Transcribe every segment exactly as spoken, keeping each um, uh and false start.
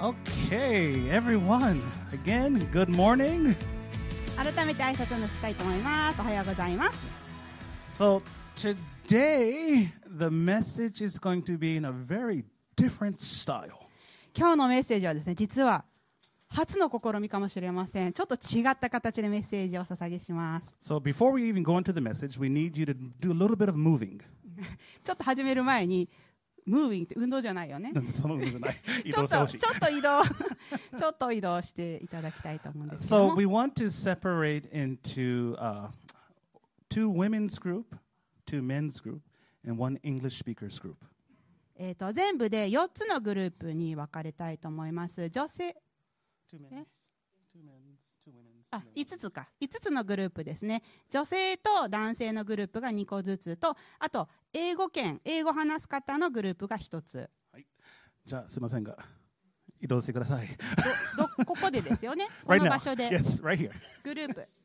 Okay, everyone. Again, good morning. 改めて挨拶をしたいと思います。おはようございます。 So today, the message is going to be in a very different style. 今日のメッセージはですね、実は初の試みかもしれません。ちょっと違った形でメッセージをお捧げします。 So before we even go into the message, we need you to do a little bit of moving. ちょっと始める前に、ムービングって運動じゃないよね。 その運動じゃない。移ちょっと動してほしい。 ちょっと移動ちょっと移動していただきたいと思うんですけど So も。 we want to separate into uh, two women's group, two men's group, and one English speakers group. えーと全部でよっつのグループに分かれたいと思います。女性 Two men's, two men's, two women's. あ、いつつか。いつつのグループですね。女性と男性のグループがにこずつと、あと英語圏、英語話す方のグループがひとつ。 はい。じゃあすいませんが移動してください。 どどここでですよね。こ Right の now. 場所で Yes, right here. グループ。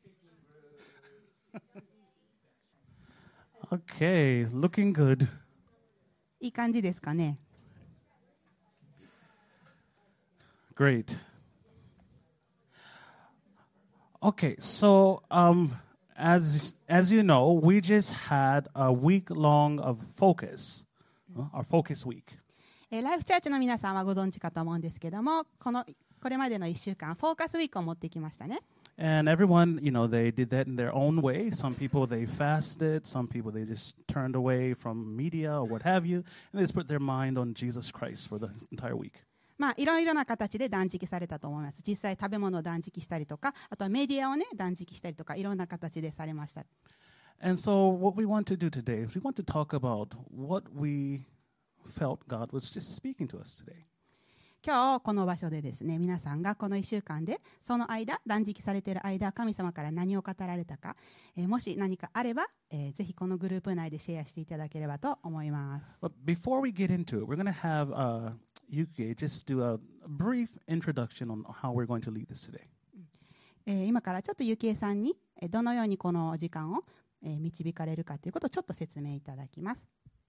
Okay, looking good. いい感じですかね。 Great. Okay, so um, as as you know, we just had a week long of focus, uh, our focus week. えーライフチャーチの皆さんはご存知かと思うんですけども、このこれまでのいっしゅうかんフォーカスウィークを持ってきましたね。 And everyone, you know, they did that in their own way. Some people they fasted, some people they just turned away from media or what have you, and they just put their mind on Jesus Christ for the entire week. まあいろいろな形で断食されたと思います。実際食べ物を断食したりとか、あとはメディアをね断食したりとか、いろんな形でされました。 And so what we want to do today is we want to talk about what we felt God was just speaking to us today. 今日この場所でですね、皆さんがこのいっしゅうかんでその間断食されている間、神様から何を語られたか、えーもし何かあれば、えーぜひこのグループ内でシェアしていただければと思います。 But before we get into it, we're going to have uh, Yuki just do a brief introduction on how we're going to lead this today. えー今からちょっとゆきえさんにえーどのようにこの時間をえー導かれるかということをちょっと説明いただきます。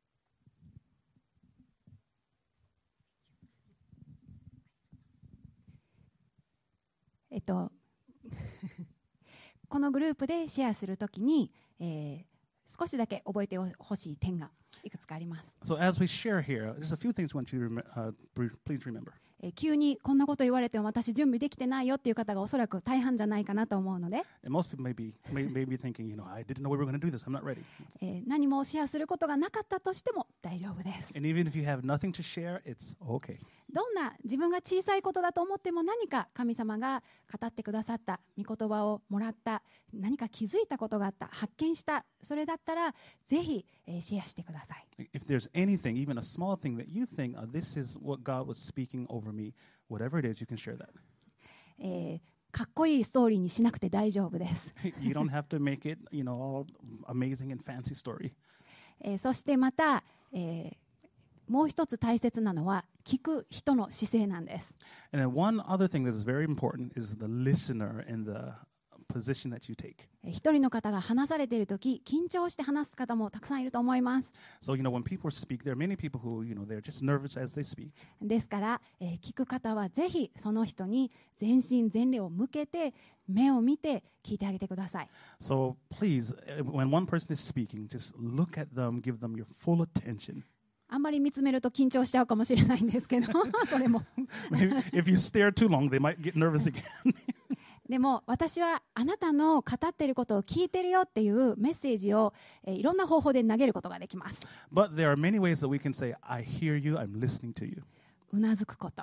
えっと、このグループでシェアするときに、えー、少しだけ覚えてほしい点がいくつかあります。 So as we share here, there's a few things we want you to rem- uh, br- please remember. えー急にこんなこと言われても私準備できてないよっていう方がおそらく大半じゃないかなと思うので、 And most people may be, may, may be thinking, you know, I didn't know we were going to do this. I'm not ready. えー何もシェアすることがなかったとしても大丈夫です。 And even if you have nothing to share, it's okay. どんな自分が小さいことだと思っても何か神様が語ってくださった御言葉をもらった、何か気づいたことがあった、発見した、それだったらぜひ、えーシェアしてください。 If there's anything, even a small thing that you think, oh, this is what God was speaking over me, whatever it is, you can share that. えーかっこいいストーリーにしなくて大丈夫です。 You don't have to make it, you know, all amazing and fancy story. えーそしてまた、えーもう一つ大切なのは聞く人の姿勢なんです。 And then one other thing that's very important is the listener and the position that you take. えー一人の方が話されているとき緊張して話す方もたくさんいると思います。 So, you know, when people speak, there are many people who, you know, they're just nervous as they speak. ですから、えー聞く方はぜひその人に全身全霊を向けて目を見て聞いてあげてください。 So please, uh, when one person is speaking, just look at them, give them your full attention. あんまり見つめると緊張しちゃうかもしれないんですけどそれも Maybe if you stare too long, they might get nervous again. でも私はあなたの語っていることを聞いてるよっていうメッセージを、えーいろんな方法で投げることができます。 But there are many ways that we can say, I hear you, I'm listening to you. うなずくこと、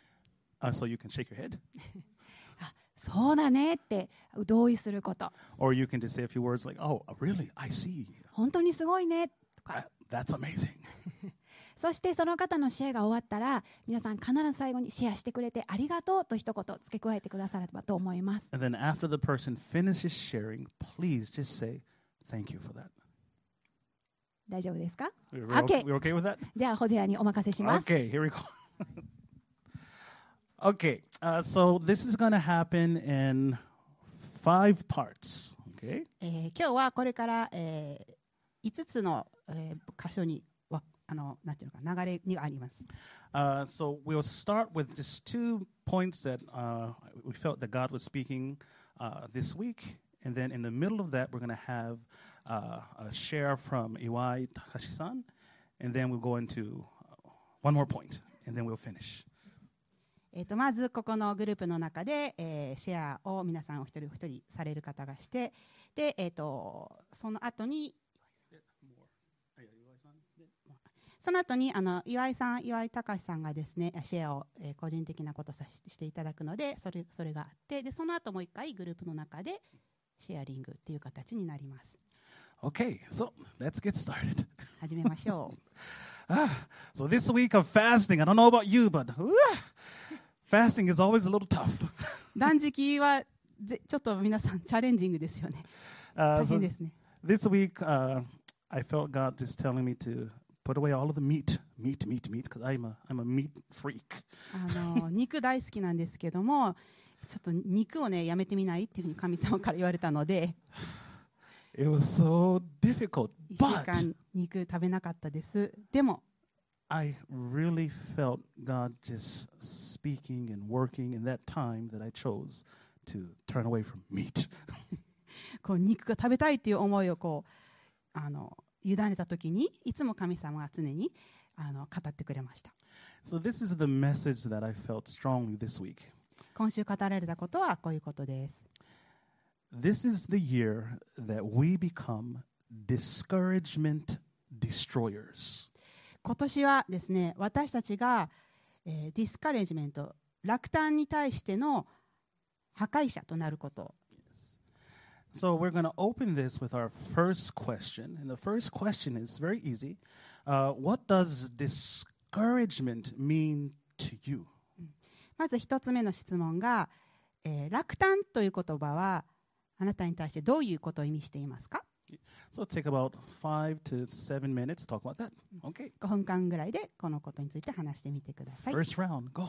Uh, so you can shake your head. あ、そうだねって同意すること、 Or you can just say a few words like, oh, really? I see. 本当にすごいねとか、 That, that's amazing. そしてその方のシェアが終わったら皆さん必ず最後にシェアしてくれてありがとうと一言付け加えてくださればと思います。 And then after the person finishes sharing, please just say, thank you for that. 大丈夫ですか？ We're, Okay. we're okay with that? ではホゼアにお任せします。 Okay, here we go. Okay, uh, so this is going to happen in five parts. Okay, えー今日はこれから、えー、いつつの、えー箇所にわあのなんていうのか流れにあります。 Uh, so we'll start with just two points that uh, we felt that God was speaking uh, this week. And then in the middle of that, we're going to have uh, a share from Iwai Takashi-san. And then we'll go into one more point, and then we'll finish. えー、とまずここのグループの中で、えー、シェアを皆さんお一人お一人される方がして、で、えー、とその後にその後にあの岩井さん、岩井隆さんがですねシェアを、えー、個人的なことをさししていただくので、それそれがあって、でその後もう一回グループの中でシェアリングっていう形になります。 Okay, so let's get started. 始めましょう。 ah, so this week of fasting, I don't know about you, but uh, fasting is always a little tough. 断食はぜちょっと皆さんチャレンジングですよね。 Uh, 大 so 変ですね。 this week, uh, I felt God just telling me to put away all of the meat, meat, meat, meat, because I'm a, I'm a meat freak. あの肉大好きなんですけども、ちょっと肉をねやめてみないっていうふうに神様から言われたので、 It was so difficult, いっしゅう but 間肉食べなかったです。でも I really felt God just speaking and working in that time that I chose to turn away from meat. こう肉が食べたいっていう思いをこうあの委ねた時に、いつも神様が常にあの語ってくれました。 So this is the message that I felt strongly this week. 今週語られたことはこういうことです。 This is the year that we become discouragement destroyers. 今年はですね、私たちが、えー、ディスカレージメント、落胆に対しての破壊者となること。 So we're going to open this with our first question. And the first question is very easy. Uh, what does discouragement mean to you? まず一つ目の質問が、えー、落胆という言葉はあなたに対してどういうことを意味していますか？ So it'll take about five to seven minutes to talk about that. Okay. ごふんかんぐらいでこのことについて話してみてください。 First round, go.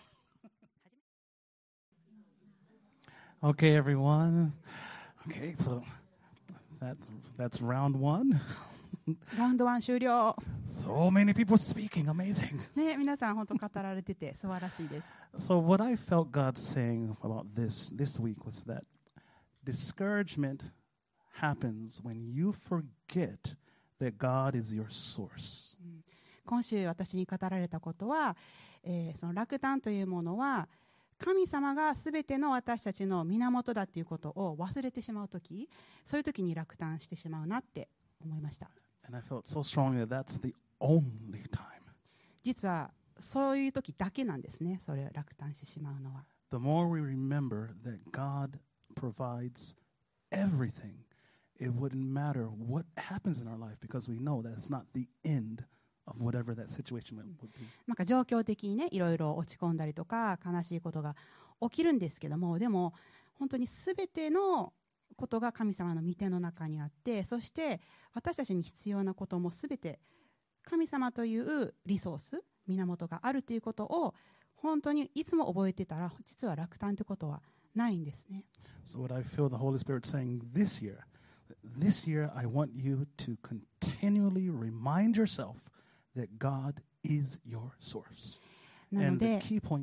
Okay, everyone. Okay, so that's that's round one. ラウンドワン終了。 So many people speaking, amazing. ね、皆さん本当語られてて素晴らしいです。 So what I felt God saying about this this week was that discouragement happens when you forget that God is your source. 今週私に語られたことは、えー、その落胆というものは神様がすべての私たちの源だということを忘れてしまうとき、そういうときに落胆してしまうなって思いました。 And I felt so strongly that that's the only time. 実はそういうときだけなんですね。それを落胆してしまうのは。 The more we remember that God provides everything, it wouldn't matter what happens in our life because we know that it's not the end of whatever that situation would be. なんか状況的にね、いろいろ落ち込んだりとか悲しいことが起きるんですけども、でも本当にすべてのことが神様の御手の中にあって、そして私たちに必要なこともすべて神様というリソース、源があるということを本当にいつも覚えてたら、実は落胆ということはないんですね。 So what I feel the Holy Spirit saying this year, this year I want you to continually remind yourself that God is your source. なの And the で key point,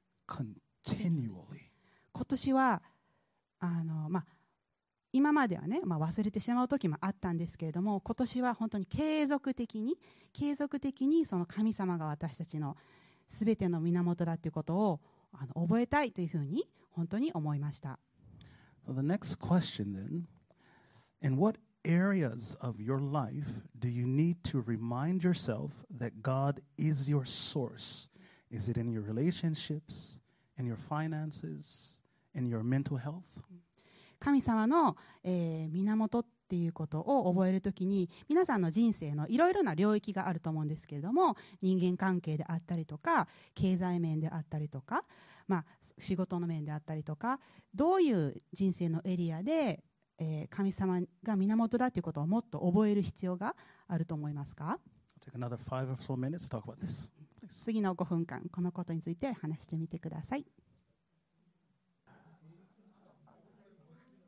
continually. 今年はあの、まあ、今まではね、まあ、忘れてしまう時もあったんですけれども、今年は本当に継続的に継続的にその神様が私たちのすべての源だということをあの覚えたいというふうに本当に思いました。 So the next question then, in what areas of your life do you need to remind yourself that God is your source? Is it in your relationships, in your finances, in your mental health? 神様の、えー、源っていうことを覚えるときに、皆さんの人生のいろいろな領域があると思うんですけれども、人間関係であったりとか経済面であったりとか、まあ、仕事の面であったりとか、どういう人生のエリアで、えー、神様が源だということをもっと覚える必要があると思いますか？ I'll take another five or so minutes to talk about this. Please. 次のごふんかんこのことについて話してみてください。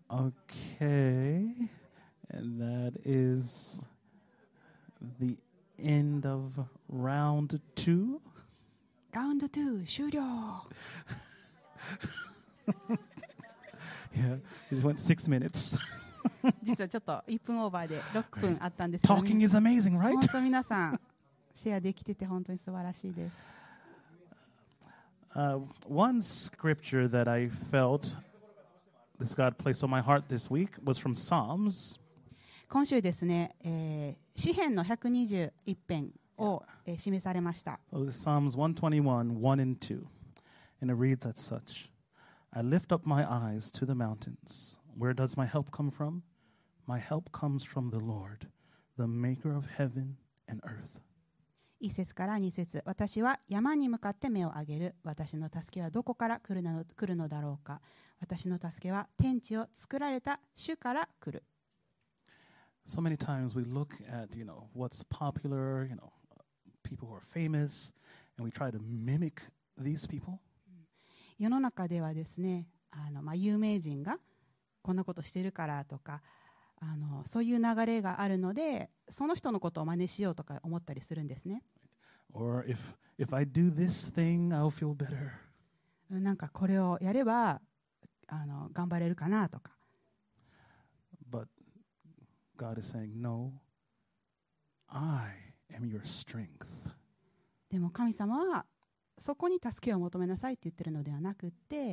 Okay, and that is the end of round two. ラウンドに終了。 Yeah, we just went six minutes. 実はちょっといっぷんオーバーでろっぷんあったんですけど、 Talking is amazing, right? 本当皆さんシェアできてて本当に素晴らしいです。 Uh, one scripture that I felt this God placed on my heart this week was from Psalms. 今週ですね、えー、詩編のひゃくにじゅういち編を、えー、示されました。 So this is Psalms one twenty-one, one and two. And it reads as such. I lift up my eyes to the mountains. Where does my help come from? My help comes from the Lord, the maker of heaven and earth. 一節から二節、私は山に向かって目を上げる。私の助けはどこから来るの、来るのだろうか。私の助けは天地を作られた主から来る。 So many times we look at, you know, what's popular, you know, people who are famous, and we try to mimic these people. 世の中ではですね、あの、まあ、有名人がこんなことしてるからとか、あのそういう流れがあるので、その人のことを真似しようとか思ったりするんですね。 Or if if I do this thing, I'll feel better. なんかこれをやればあの頑張れるかなとか。 But God is saying, no, I am your strength. でも神様はそこに助けを求めなさいって言ってるのではなくって、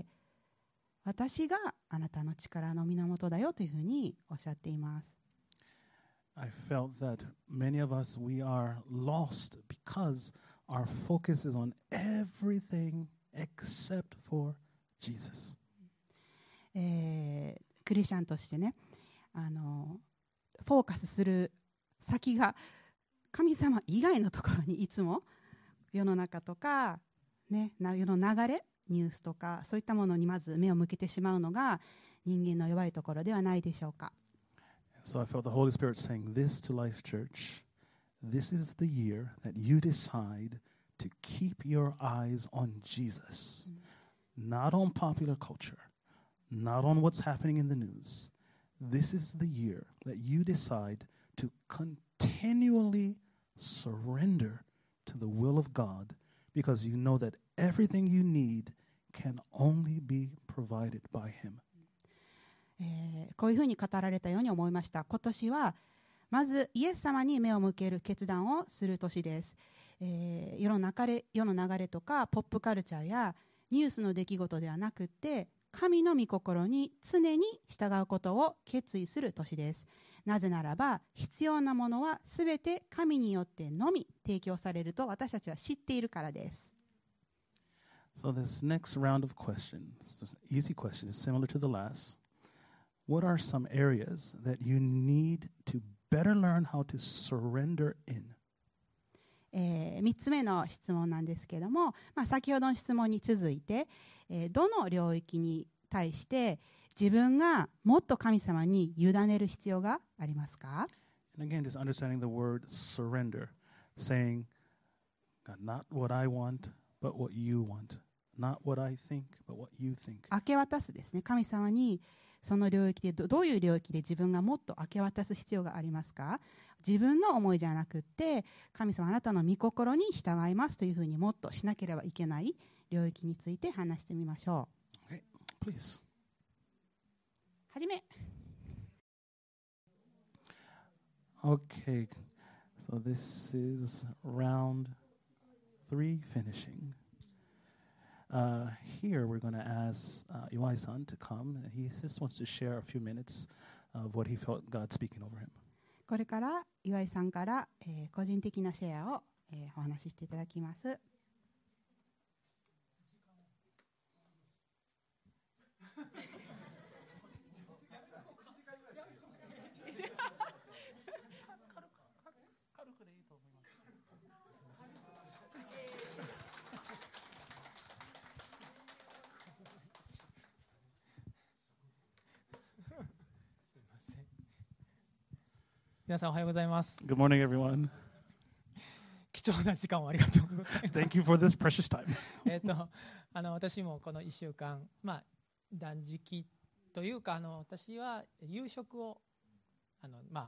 私があなたの力の源だよというふうにおっしゃっています。 I felt that many of us, we are lost because our focus is on everything except for Jesus. えー、クリスチャンとしてね、あのフォーカスする先が神様以外のところにいつも世の中とか、ね、世の流れ、ニュースとかそういったものにまず目を向けてしまうのが人間の弱いところではないでしょうか。 So I felt the Holy Spirit saying this to Life Church. This is the year that you decide to keep your eyes on Jesus, not on popular culture, not on what's happening in the news. This is the year that you decide to continually surrender to the will of God because you know that everything you need can only be provided by Him. えー、こういうふうに語られたように思いました。今年はまずイエス様に目を向ける決断をする年です。えー、世の流れ、世の流れとかポップカルチャーやニュースの出来事ではなくって神の御心に常に従うことを決意する年です。なぜならば必要なものはすべて神によってのみ提供されると私たちは知っているからです。 So this next round of questions, this easy question, is similar to the last. What are some areas that you need to better learn how to surrender in? えー、みっつめの質問なんですけれども、まあ、先ほどの質問に続いて、えー、どの領域に対して自分がもっと神様に委ねる必要がありますか？ And again, just understanding the word surrender, saying, God, not what I want, but what you want. Not what I think, but what you think. 明け渡すですね。神様にその領域で ど, どういう領域で自分がもっと明け渡す必要がありますか？自分の思いじゃなくって神様あなたの御心に従いますというふうにもっとしなければいけない領域について話してみましょう。 Okay, please. はじめ。 Okay, so this is round three finishing. Uh, here we're going to ask uh, Iwai-san to come. He just wants to share a few minutes of what he felt God speaking over him. これから岩井さんから、えー、個人的なシェアを、えー、お話ししていただきます。 皆さんおはようございます。 Good morning, everyone. 貴重な時間をありがとうございます。 Thank you for this precious time. えっとあの私もこのいっしゅうかん、まあ断食というかあの私は夕食をあのまあ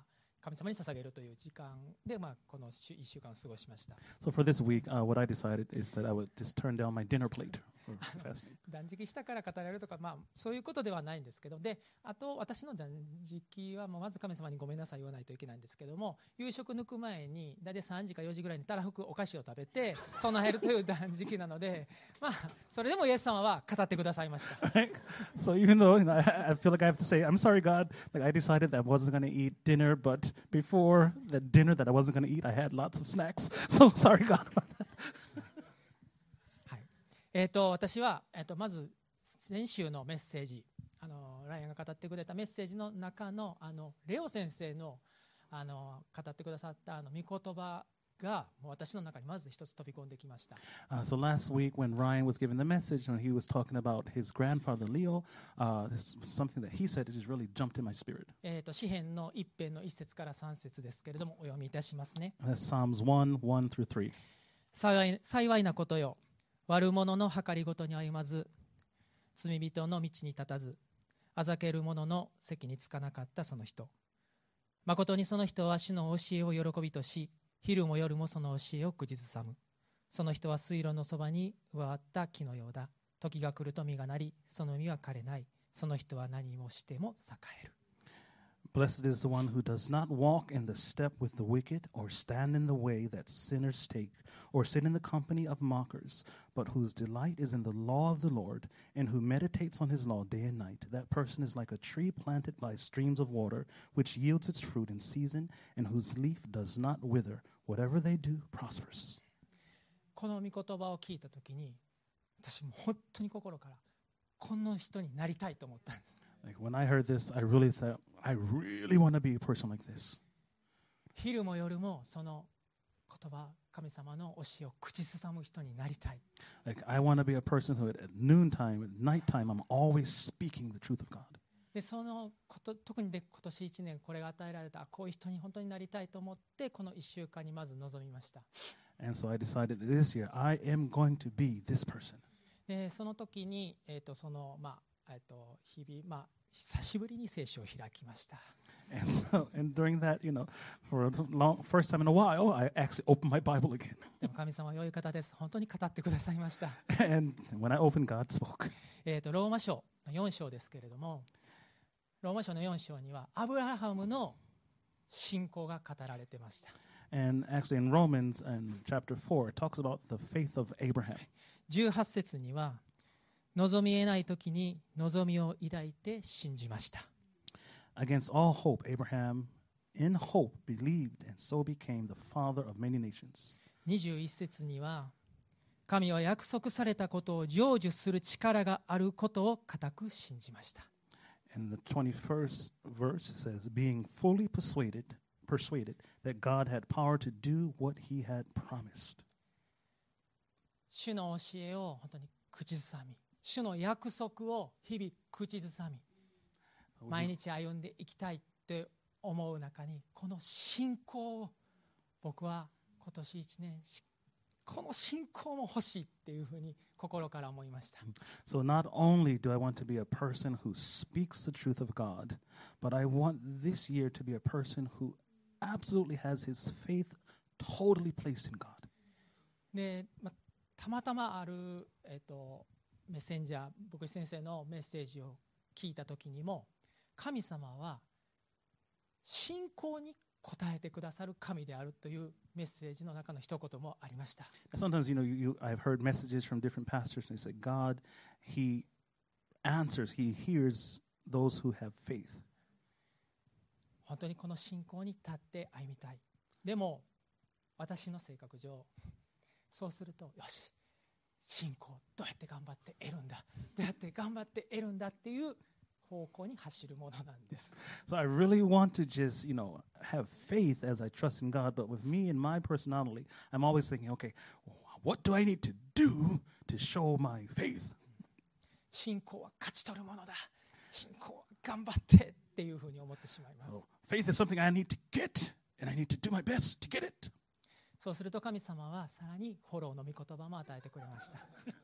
神様に捧げるという時間で、まあ、このいっしゅうかんを過ごしました。 So for this week, uh, what I decided is that I would just turn down my dinner plate for fasting. 断食したから語られるとか、まあ、そういうことではないんですけど、であと私の断食は、まあ、まず神様にごめんなさい言わないといけないんですけども、夕食抜く前に大体さんじかよじぐらいにたらふくお菓子を食べて備えるという断食なので、まあ、それでもイエス様は語ってくださいました。 Right? So even though you know, I, I feel like I have to say, I'm sorry, God. Like I decided that I wasn't going to eat dinner, but before the dinner that I wasn't going to eat, I had lots of snacks. So sorry, God, about that. はい、えー、と私は、えー、とまず先週のメッセージ、あのライアンが語ってくれたメッセージの中の、あのレオ先生の、あの語ってくださったあの御言葉がもう私の中にまず一つ飛び込んできました。 Uh, so last week when Ryan was giving the message, when he was talking about his grandfather Leo, uh, this was something that he said that just really jumped in my spirit. えー、と詩編の一編の一節から三節ですけれども、お読みいたしますね。 That's Psalms one, one through three. 幸い、幸いなことよ、悪者の計りごとに歩まず、罪人の道に立たず、あざける者の席につかなかったその人。誠にその人は主の教えを喜びとし、昼も夜もその教えを口ずさむ。その人は水路のそばに植わった木のようだ。時が来ると実がなり、その実は枯れない。その人は何もしても栄える。 Blessed is the one who does not walk in the step with the wicked, or stand in the way that sinners take, or sit in the company of mockers, but whose delight is in the law of the Lord, and who meditates on his law day and night. That person is like a tree planted by streams of water, which yields its fruit in season, and whose leaf does not wither. Whatever they do prospers. この御言葉を聞いたときに、私も本当に心からこの人になりたいと思ったんです。 Like when I heard this, I really thought, I really want to be a person like this. 昼も夜もその言葉、神様の教えを口ずさむ人になりたい。 Like I want to be a person who at noontime, at nighttime, I'm always speaking the truth of God. でそのこと特にで今年いちねんこれが与えられたこういう人に本当になりたいと思ってこのいっしゅうかんにまず臨みました。 And so I decided that this year I am going to be this person. でその時に、えーとそのまあえー、と日々、まあ、久しぶりに聖書を開きました。 And so, and during that, you know, for the long, first time in a while, I actually opened my Bible again. でも神様は良い方です。本当に語ってくださいました。 And when I opened, God spoke. えーとローマ書のよん章ですけれども、ローマ書のよん章にはアブラハムの信仰が語られてました。 And actually in Romans and chapter four, it talks about the faith of Abraham. じゅうはち節には望み得ない時に望みを抱いて信じました。 Against all hope, Abraham in hope believed and so became the father of many nations. にじゅういち節には神は約束されたことを成就する力があることを固く信じました。 And the twenty-first verse says, being fully persuaded, persuaded that God had power to do what he had promised. 主の教えを本当に口ずさみ、主の約束を日々口ずさみ、毎日歩んでいきたいって思う中に、この信仰を僕は今年一年、この信仰も欲しいっていうふうに心から思いました。 So not only do I want to be a person who speaks the truth of God, but I want this year to be a person who absolutely has his faith totally placed in God. で、ま、たまたまある、えーと、メッセンジャー、牧師先生のメッセージを聞いたときにも、神様は信仰に応えてくださる神であるというメッセージの中の一言もありました。 Sometimes, you know, you, you, I've heard messages from different pastors and they say, God, he answers, he hears those who have faith. 本当にこの信仰に立って歩みたい。でも私の性格上、そうするとよし、信仰どうやって頑張って得るんだ、どうやって頑張って得るんだっていう方向に走るものなんです。 So I really want to just, you know, have faith as I trust in God. But with me and my personality, I'm always thinking, okay, what do I need to do to show my faith? 信仰は勝ち取るものだ。信仰は頑張ってっていうふうに思ってしまいます。 So faith is something I need to get, and I need to do my best to get it. そうすると神様はさらにフォローの御言葉も与えてくれました。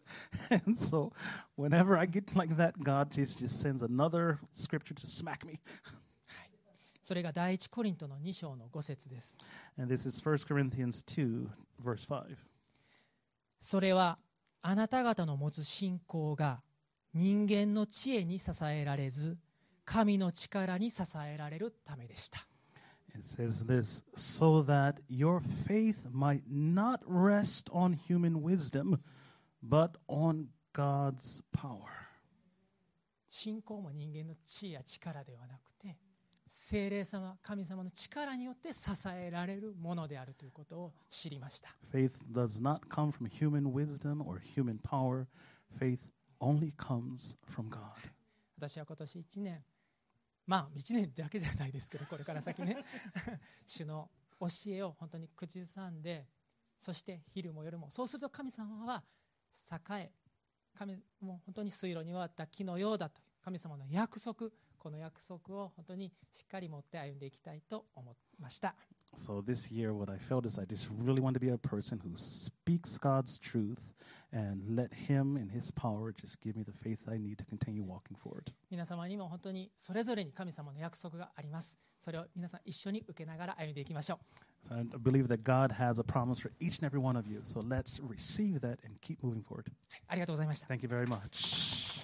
And so whenever I get like that, God just, just sends another scripture to smack me. はい、 それが第一コリントのに章のご節です。 And this is First Corinthians two, verse five. それはあなた方の持つ信仰が人間の知恵に支えられず、神の力に支えられるためでした。 It says this, so that your faith might not rest on human wisdom, but on God's power. 信仰も人間の知恵や力ではなくて、聖霊様、神様の力によって支えられるものであるということを知りました。 Faith does not come from human wisdom or human power. Faith only comes from God. 私は今年いちねん、まあいちねんだけじゃないですけど、これから先ね主の教えを本当に口ずさんで、そして昼も夜も、そうすると神様は栄え、神もう本当に水路に終わった木のようだという神様の約束、この約束を本当にしっかり持って歩んでいきたいと思いました。 So this year what I felt is I just really want to be a person who speaks God's truth and let Him and His power just give me the faith I need to continue walking forward. 皆様にも本当にそれぞれに神様の約束があります。それを皆さん一緒に受けながら歩んでいきましょう。 So I believe that God has a promise for each and every one of you. So let's receive that and keep moving forward. はい、ありがとうございました。 Thank you very much.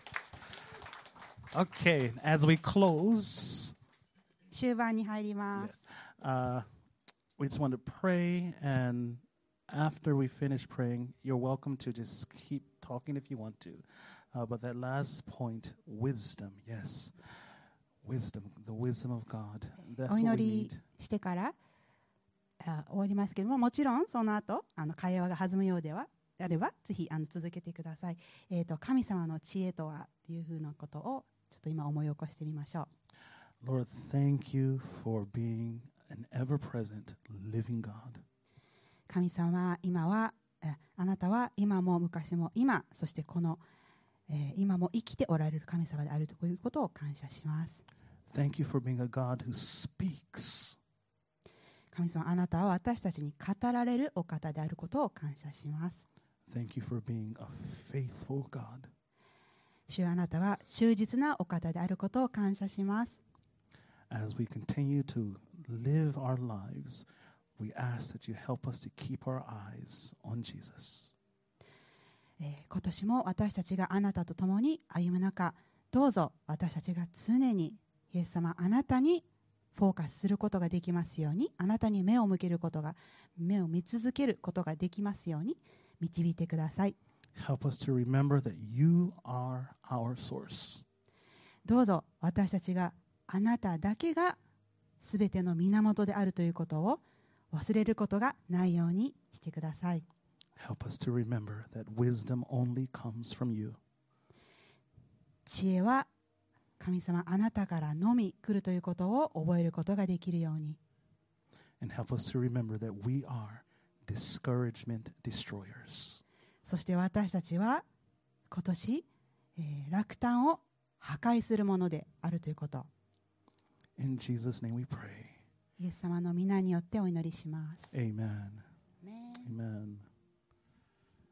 Okay, as we close, 終盤に入ります。 uh, we just want to pray, and after we finish praying, you're welcome to just keep talking if you want to. Uh, but that last point, wisdom, yes, wisdom, the wisdom of God. That's お what 祈 we り need. してからあ終わりますけども、もちろんその後あの会話が弾むようではあればぜひあの続けてください。えーと神様の知恵とはっていうふうなことをちょっと今思い起こしてみましょう。 Lord, thank you for being an ever-present living God. 神様、今はえあなたは今も昔も今、そしてこの、えー今も生きておられる神様であるということを感謝します。 Thank you for being a God who speaks. 神様、あなたは私たちに語られるお方であることを感謝します。 Thank you for being a faithful God. 主よ、あなたは忠実なお方であることを感謝します。 As we continue to live our lives, we ask that you help us to keep our eyes on Jesus. えー今年も私たちがあなたと共に歩む中、どうぞ私たちが常にイエス様、あなたにフォーカスすることができますように、あなたに目を向けることが、目を見続けることができますように導いてください。 Help us to remember that you are our source. どうぞ私たちがあなただけがすべての源であるということを忘れることがないようにしてください。 Help us to remember that wisdom only comes from you. 知恵は神様あなたからのみ来るということを覚えることができるように。 And help us to remember that we are discouragement destroyers. そして私たちは今年、えー落胆を破壊するものであるということ。 In Jesus' name we pray. イエス様の皆によってお祈りします。 Amen. アーメン Amen.